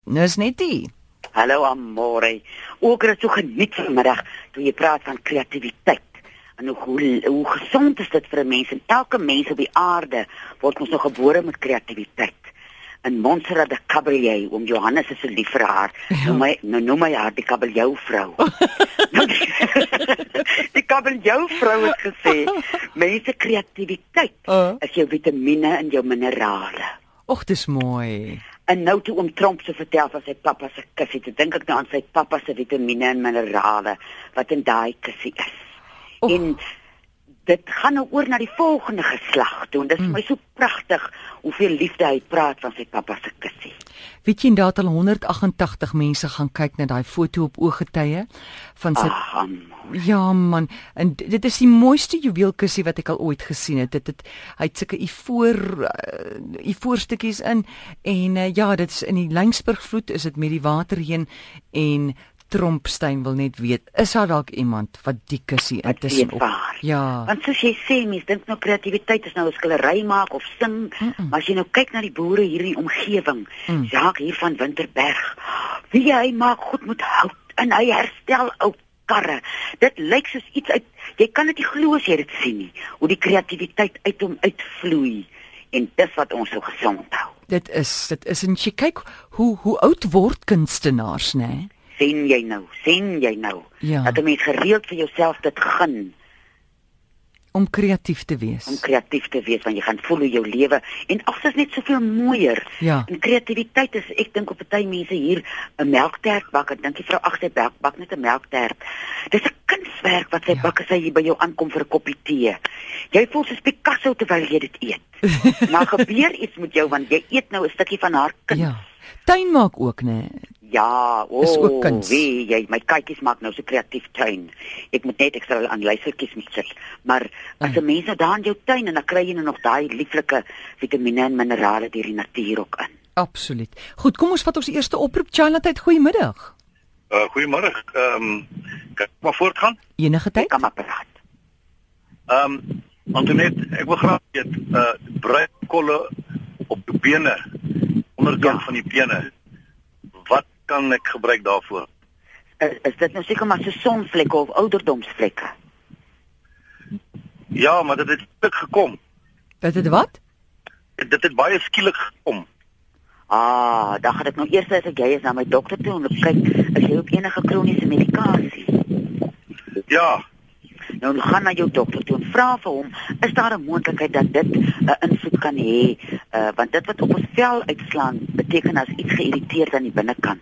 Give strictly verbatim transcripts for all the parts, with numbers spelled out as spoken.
Dis net die. Hallo Amore. Ook het so geniet vanmiddag toe jy praat van kreatiwiteit. En hoe, hoe, hoe gezond is dit vir 'n mens? En elke mens op die aarde word ons nog gebore met kreatiwiteit. En Montserrat de Caballé, oom Johannes is so lief vir haar. Ja. Noem my, nou noem my haar die kabeljou vrou. Die kabeljou vrou het gesê, mense kreatiwiteit uh. is jou vitamiene en jou minerale. Och, dis mooi. En nou toe oom Tromp so vertel van sy pappa se kussie, toe dink ek nou aan sy pappa se vitamiene en minerale wat in daai kussie is. Oh. En dit gaan nou oor na die volgende geslag toe. En dit is mm. my so pragtig hoeveel liefde hy praat van sy pappa se kussie. Weet jy, inderdaad al honderd agt en tagtig mense gaan kyk na daai foto op ooggetye van sy Ach, ja man, en dit is die mooiste juweelkussie wat ek al ooit gesien het. Dit het hy het sulke ivoor uh, ivoor-stukkies in en uh, ja, dit is in die Lyngsburgvloed is dit met die water heen en Trompstein wil net weet, is daar dalk iemand wat die kussie intussen op? Ja. Want soos jy sê, mens dink nou kreatiwiteit is nou 'n skillery maak of sing, mm -mm. maar as jy nou kyk na die boere hier in die omgewing, mm. Jacques hier van Winterberg, wie hy maak goed met hout en hy herstel ou karre. Dit lyk soos iets uit, jy kan dit nie glo as jy dit sien nie, hoe die kreatiwiteit uit hom uitvloei. En dis wat ons so gesond hou. Dit is, dit is en jy kyk hoe hoe oud word kunstenaars, né? Nee? Sien jy nou, sien jy nou, ja. dat 'n mens gereeld vir jouself dit gun. Om kreatief te wees. Om kreatief te wees, want jy gaan voel hoe jou lewe, en ag, dit is net soveel mooier. Ja. En kreatiwiteit is, ek dink op party mense hier, 'n melktert bak, ek dink die vrou ag sy bak, bak net 'n melktert. Dis 'n kunswerk wat sy ja. bak as hy hier by jou aankom vir 'n koppie tee. Jy voel soos Picasso terwyl jy dit eet. Maar gebeur iets met jou, want jy eet nou 'n stukkie van haar kuns. Ja. Tuin maak ook, né? Nee. Ja, o, oh, wie, jy, my kykies maak nou so kreatief tuin. Ek moet net ekstra aan luistertjies moet sit. Maar as 'n mens nou daar in jou tuin en dan kry jy nou nog daai lieflike vitamiene en minerale deur die natuur ook in. Absoluut. Goed, kom ons vat ons eerste oproep. Charlotte, goeiemiddag. Uh goeiemôre. Ehm um, kan ek maar voortgaan? Enige tyd? Ek kan maar praat. Ehm um, Antoinette, ek wil graag weet uh bruinkolle op die bene, onderkant ja. van die bene. Wat kan ek gebruik daarvoor? Is, is dit nou seker maar so sonvlekke of ouderdomsvlekke? Ja, maar dit het skielik gekom. Dit het wat? Dit het baie skielik gekom. Ah, dan gaan ek nou eers as ek jy is na my dokter toe en kyk, is jy op enige kroniese medikasie? Ja. Nou gaan na jou dokter toe en vra vir hom, is daar 'n moontlikheid dat dit 'n uh, invloed kan hê, uh, want dit wat op ons vel uitslaan beteken as iets geïrriteerd aan die binnekant.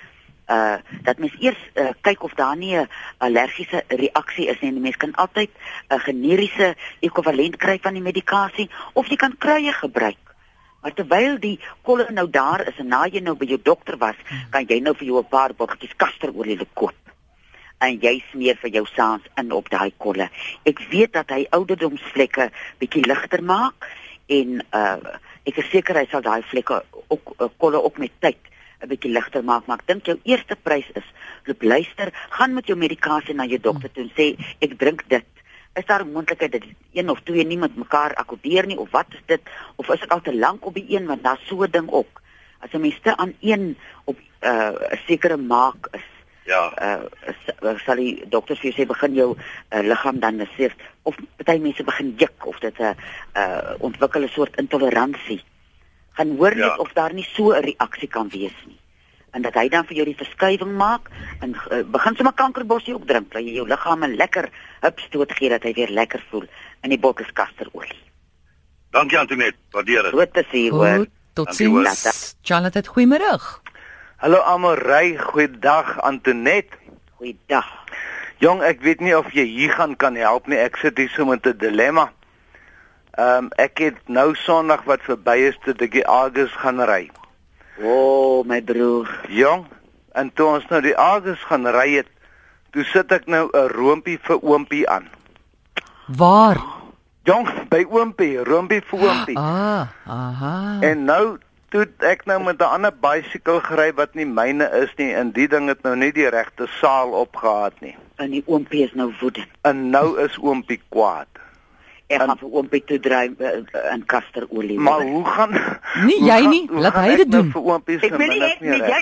Uh dat mens eers uh, kyk of daar nie 'n allergiese reaksie is nie. Mens kan altyd 'n uh, generiese ekwivalent kry van die medikasie of jy kan kruie gebruik. Maar terwyl die kolle nou daar is en na jy nou by jou dokter was, kan jy nou vir jou 'n paar botteltjies kasterolie koop. En jy smeer vir jou saans in op daai kolle. Ek weet dat hy ouderdomsvlekke bietjie ligter maak en uh ek is seker hy sal daai vlekke ook uh, kolle ook met tyd 'n bietjie ligter maak, maar ek dink jou eerste prys is, loop luister, gaan met jou medikasie na jou dokter toe en sê ek drink dit. Is daar 'n moontlikheid dat een of twee nie met mekaar akkoordeer nie of wat is dit? Of is dit al te lank op die een, want daar's so 'n ding ook. As 'n mens te aan een op 'n uh, sekere maak is, ja, uh, sal die dokter vir jou sê begin jou uh, liggaam dan sê of party mense begin juk of dit 'n uh, uh, ontwikkel 'n soort intoleransie. Gaan hoor net ja. of daar nie so 'n reaksie kan wees nie. En dat hy dan vir jou die verskuiwing maak en uh, begin sommer kankerbossie ook drink, dat jy jou liggaam 'n lekker hupstoot gee dat hy weer lekker voel in die bottels kasterolie. Dankie Antoinette, waardeer dit. Goed te sien hoor. Tot sins. Charlotte, goeiemiddag. Hallo Amorey, goeiedag Antoinette. Goeiedag. Jong, ek weet nie of jy hier gaan kan help nie. Ek sit hier so met 'n dilemma. Ehm um, ek het nou Sondag wat verby is te die Argus gaan ry. O, oh, my broer. Jong, en toe ons nou die Argus gaan ry het, toe sit ek nou 'n roompie vir oompie aan. Waar? Jong, by oompie, roompie vir oompie. Ah, aha. En nou toe ek nou met 'n ander bicycle gery wat nie myne is nie, en die ding het nou nie die regte saal opgehad nie. En die oompie is nou woedend. En nou is oompie kwaad. Ek gaan vir oompie toe draai uh, in kasterolie. Maar hoe gaan Nie jy nie, laat hy dit doen. Vir oompie se Ek weet nie minus ek nie nie reg jy.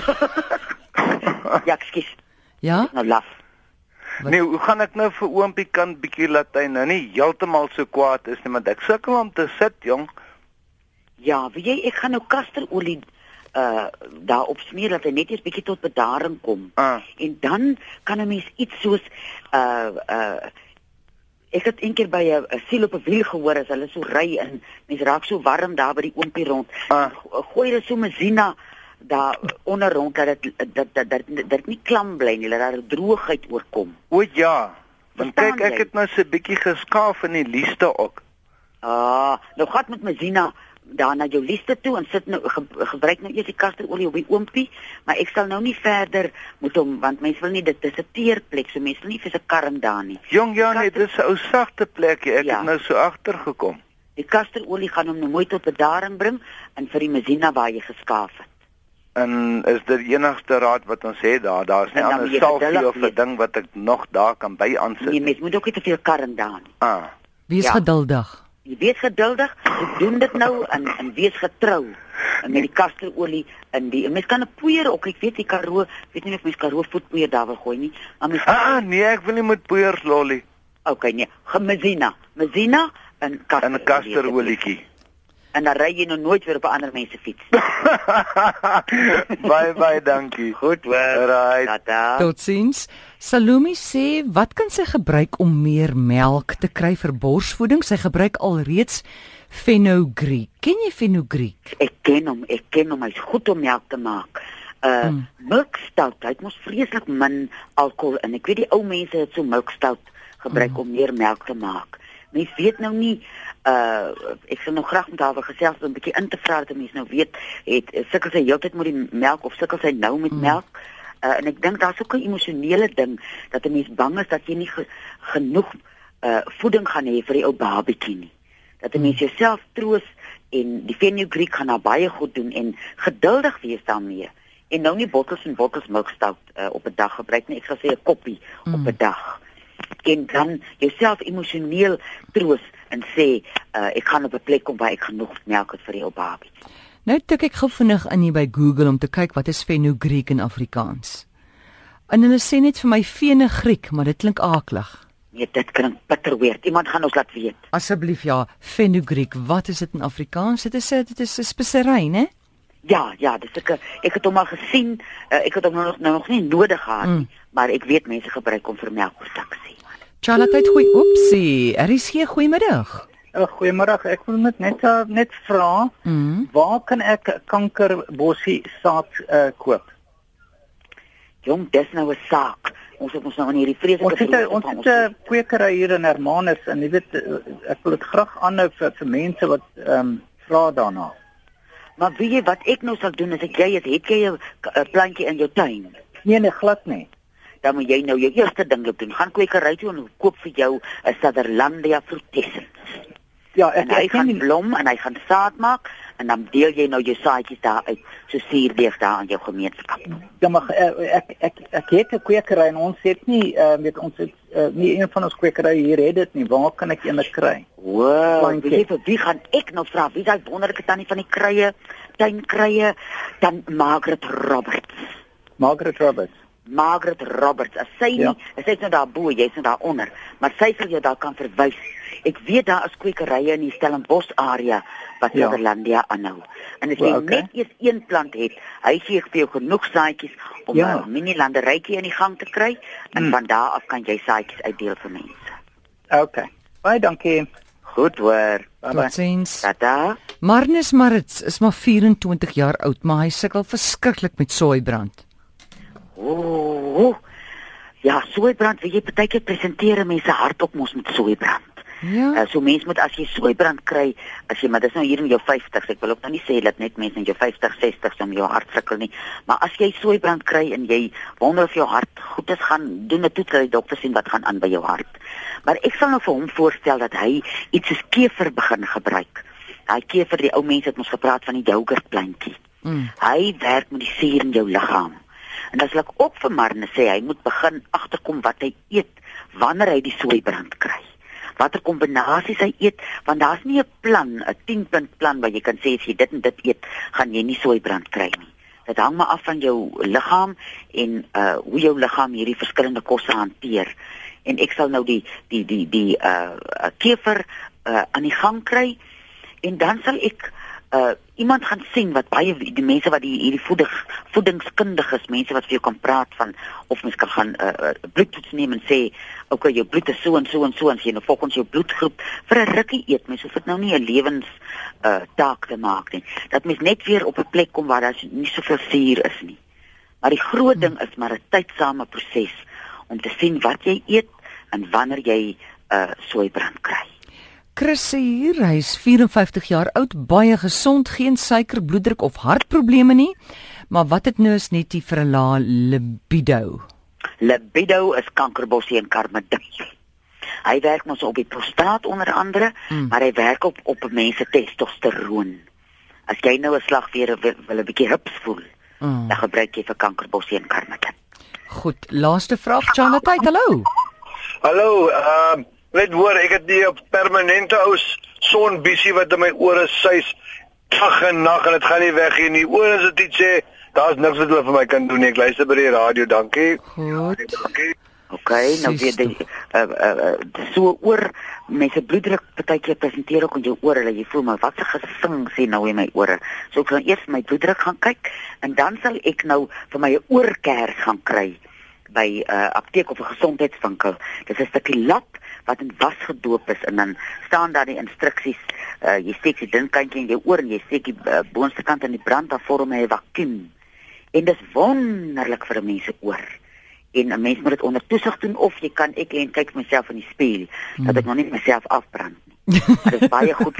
kry. Ja, ekskuus. Ja? Nou laf. Wat? Nee, hoe gaan ek nou vir oompie kan bietjie laat hy nou nie heeltemal so kwaad is nie, want ek sukkel om te sit, jong. Ja, weet jy, ek gaan nou kasterolie uh daarop smeer dat hy net eers bietjie tot bedaring kom. Ah. En dan kan 'n mens iets soos uh uh ek het eendag by 'n siel op 'n wiel gehoor as hulle so ry en mens raak so warm daar by die oompie rond. Ah. Gooi hulle so mesina daar onder rond dat dit dat dat dat dit nie klam bly nie, dat daar droogheid oorkom. O ja. Want Verstaan kyk, ek jy? het nou so 'n bietjie geskaaf in die lieste ook. Ah, nou gaan met mesina daar na jou lieste toe en sit nou ge, gebruik nou eers die kasterolie op die oompie, maar ek sal nou nie verder moet hom want mense wil nie dit dis 'n teerplek, so mense wil nie vir se karm daar nie. Jong ja, nee, Kaster- dis 'n ou sagte plekkie. Ek Ja. het nou so agtergekom. Die kasterolie gaan hom nou mooi tot bedaring bring en vir die mesina waar jy geskaaf het. En is dit die enigste raad wat ons het daar? Daar's nie En dan ander moet jy salfie geduldig of 'n wees. ding wat ek nog daar kan by aansit. Nee, nie. mens moet ook nie te veel karm daar nie. Ah. Wees Ja. geduldig. Jy wees geduldig, doen dit nou en en wees getrou. En met die kasterolie in die mens kan 'n poeier ook, ek weet die Karoo, weet nie of mens Karoo voetpoeier daar wil gooi nie, maar mens Ah, nee, ek wil nie met poeiers lolly. okay, nee, gemesina, mesina en In kasterolie. 'n kasterolietjie. En dan ry jy nou nooit weer op 'n ander mens se fiets. Bye bye, dankie. Goed hoor. Right. Tata. Totsiens. Salome sê wat kan sy gebruik om meer melk te kry vir borsvoeding? Sy gebruik alreeds fenugreek. Ken jy fenugreek? Ek ken hom, ek ken hom, hy's goed om melk te maak. Uh Mm. milkstout, hy het mos vreeslik min alkohol in. Ek weet die ou mense het so milkstout gebruik Mm. om meer melk te maak. Mens weet nou nie uh ek sou nou graag met haar wil gesels om 'n bietjie in te vra dat mense nou weet het sukkel sy heeltyd met die melk of sukkel sy nou met Mm. melk. Uh en ek dink daar's ook 'n emosionele ding dat 'n mens bang is dat jy nie ge, genoeg uh voeding gaan hê vir die ou babatjie nie. Dat 'n mens jouself troos en die fenugreek gaan haar baie goed doen en geduldig wees daarmee. En nou nie bottels en bottels milkstout uh, op 'n dag gebruik nie. Ek sal sê 'n koppie mm. op 'n dag. En dan jouself emosioneel troos en sê uh, ek gaan op 'n plek kom waar ek genoeg melk het vir die ou babie. Nou tik ek gou vinnig in hier by Google om te kyk wat is fenugreek in Afrikaans. En hulle sê net vir my fenugreek, maar dit klink aaklig. Nee, dit klink bitter weird. Iemand gaan ons laat weet. Asseblief ja, fenugreek, wat is dit in Afrikaans? Dit is 'n dit is 'n spesery, né? Ja, ja, dis ek ek het hom al gesien. Uh, ek het hom nog nou nog nie nodig gehad nie, Mm. maar ek weet mense gebruik hom vir melkproductie. Charlotte, goeie oepsie. Er is hier goeiemiddag. Uh, Goeiemôre, ek wil net net, uh, net vra, Mm. waar kan ek kankerbossie saad uh, koop? Jong, dis nou 'n saak. Ons het ons nou in hierdie vreeslike Ons het 'n verlof ons van het 'n kwekery hier in Hermanus en jy weet uh, ek wil dit graag aanhou vir vir mense wat ehm um, vra daarna. Maar weet jy wat ek nou sal doen as ek jy is, het jy 'n k- 'n plantjie in jou tuin? Nee nee, glad nie. Dan moet jy nou jou eerste ding loop doen. Gaan kwekery toe en koop vir jou 'n Sutherlandia frutescens. Ja, En ek hy ek gaan ken nie, blom en hy gaan saad maak en dan deel jy nou jou saadjies daar uit, so suurdeeg daar in jou gemeenskap. ja maar uh, ek ek ek het 'n kwekery en ons het nie uh, weet ons het uh, nie een van ons kwekerye hier het dit nie. Waar kan ek eene kry? Wow, Plantjie. weet jy vir wie gaan ek nou vra? Wie is daai wonderlike tannie van die krye, tuinkrye, dan Margaret Roberts. Margaret Roberts. Margaret Roberts, as sy nie, Ja. as sy is nou daar bo, jy's nou daar onder, maar sy sal jou daar kan verwys. Ek weet daar is kwekerye in die Stellenbosch area wat Ja. Sutherlandia aanhou. En as jy Well, okay. net eers een plant het, hy gee vir jou genoeg saadjies om 'n Ja. mini landerytjie in die gang te kry en Hmm. van daar af kan jy saadjies uitdeel vir mense. Okay. Baie dankie. Goed hoor. Bye bye. Totsiens. Tata. Marnus Marits is maar vyf-en-twintig jaar oud, maar hy sukkel verskriklik met soeibrand. Ooh. Ja, soeibrand, weet jy, partykeer presenteer mense hardop mos met soeibrand. Ja. Uh, so mens moet as jy soeibrand kry, as jy maar dis nou hier in jou vyftigs, ek wil ook nou nie sê dat net mense in jou vyftig, sestig om jou hart sukkel nie, maar as jy soeibrand kry en jy wonder of jou hart goed is, gaan doen 'n toets by die dokter sien wat gaan aan by jou hart. Maar ek sal nou vir hom voorstel dat hy iets soos kever begin gebruik. Daai kever, die ou mense het ons gepraat van die yoghurtplantjie. Mm. Hy werk met die suur in jou liggaam. En dan sal ek ook vir Marne sê hy moet begin agterkom wat hy eet wanneer hy die soeibrand kry. watter kombinasies hy eet, want daar's nie 'n plan, 'n tien-punt plan waar jy kan sê as jy dit en dit eet, gaan jy nie soeibrand kry nie. Dit hang maar af van jou liggaam en uh hoe jou liggaam hierdie verskillende kosse hanteer. En ek sal nou die die die die uh kever uh aan die gang kry en dan sal ek uh iemand gaan sien wat baie die mense wat die hierdie voeding voedingskundiges, mense wat vir jou kan praat van of mens kan gaan uh, bloedtoets neem en sê okay, jou bloed is so en so en so en jy nou volgens jou bloedgroep vir 'n rukkie eet, mens hoef dit nou nie 'n lewens uh taak te maak nie. Dat mens net weer op 'n plek kom waar daar nie soveel suur is nie. Maar die groot hmm. ding is maar 'n tydsame proses om te sien wat jy eet en wanneer jy uh soeibrand kry. Chris hier, hy is vyf en vyftig jaar oud, baie gesond, geen suiker, bloeddruk of hartprobleme nie. Maar wat het nou is net die verlae libido? Libido is kankerbossie en karmedie. Hy werk mos op die prostaat onder andere, mm. maar hy werk op op mense testosteroon. As jy nou 'n slag weer wil, wil 'n bietjie hips voel, mm. dan gebruik jy vir kankerbossie en karmedie. Goed, laaste vraag, Chanatay, hallo. Hallo, ehm uh, net hoor, ek het die permanente ou sonbisie wat in my ore suis dag en nag en dit gaan nie weg nie. Oor as dit sê, daar's niks wat hulle vir my kan doen nie. Ek luister by die radio, dankie. Goed. Dankie. Okay, nou weer die uh, uh, uh, so oor mense bloeddruk partykeer presenteer ook in jou ore, dat jy voel maar wat se gesing sê nou in my ore. So ek gaan eers my bloeddruk gaan kyk en dan sal ek nou vir my 'n oorkers gaan kry by 'n uh, apteek of 'n gesondheidswinkel. Dit is 'n stukkie lap wat in was gedoop is en dan staan daar die instruksies, uh, jy steek die dinkkantjie in jou oor en jy steek die uh, boonste kant in die brand, dan vorm hy 'n vakuum. En dis wonderlik vir 'n mens se oor. En 'n mens moet dit onder toesig doen of jy kan ek en kyk vir myself in die spieël hmm. dat ek nog nie myself afbrand nie. Maar dit is baie goed.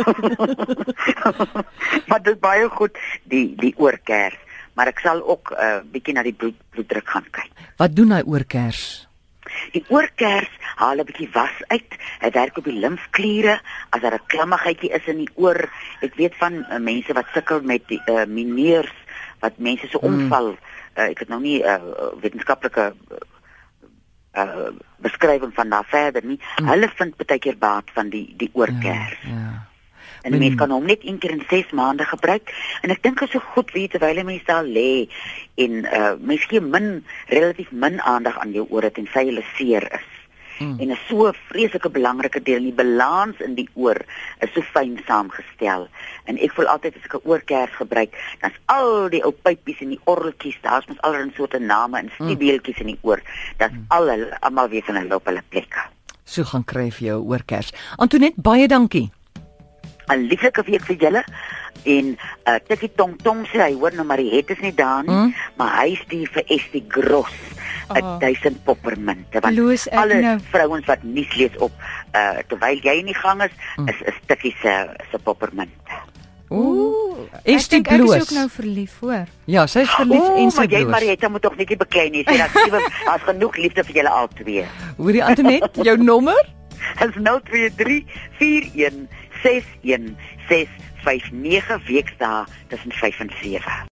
Maar dit is baie goed die die oorkers, maar ek sal ook 'n uh, bietjie na die bloed, bloeddruk gaan kyk. Wat doen hy oorkers? Die oorkers haal 'n bietjie was uit. Hy werk op die limfkliere as daar 'n klammigheidjie is in die oor. Ek weet van uh, mense wat sukkel met die uh, mineurs wat mense so omval. Hmm. Uh, ek het nou nie 'n uh, wetenskaplike uh, uh, beskrywing van daar verder nie. Hmm. Hulle vind baie keer baat van die die oorkers. Ja, ja. En mens kan hom net een keer in ses maande gebruik. En ek dink dit is so goed weet terwyl jy mens daar lê en uh, mens gee min, relatief min aandag aan jou ore tensy hulle seer is. Mm. En is so 'n vreeslike belangrike deel. Die balans in die oor is so fyn saamgestel. En ek voel altyd as ek 'n oorkers gebruik, dan's al die ou pypies en die orreltjies, daar's mos allerlei soorte name en stiebeeltjies in die oor. Dan's mm. al hulle almal weer van hulle op hulle plekke. So gaan kry vir jou oorkers. Antoinette, baie dankie. 'n lieflike week vir julle en uh, Tikkie Tong Tong sê hy hoor nou maar die het is nie daar nie, mm. maar hy stuur vir Estie Gross 'n oh. duisend poppermunte want Loos, alle nou. vrouens wat nuus lees op uh, terwyl jy in die gang is, mm. is is Tikkie se se poppermunte. Ooh, Estie Bloos. Ek is ook nou verlief, hoor. Ja, sy is verlief oh, en sy bloos. Maar jy Marietta moet tog netjie beklei nie, sê dat daar's genoeg liefde vir julle al twee. Hoorie Antoinette, jou nommer? Is nul twee drie vier een ses een ses vyf nege weksdae tussen vyf en sewe.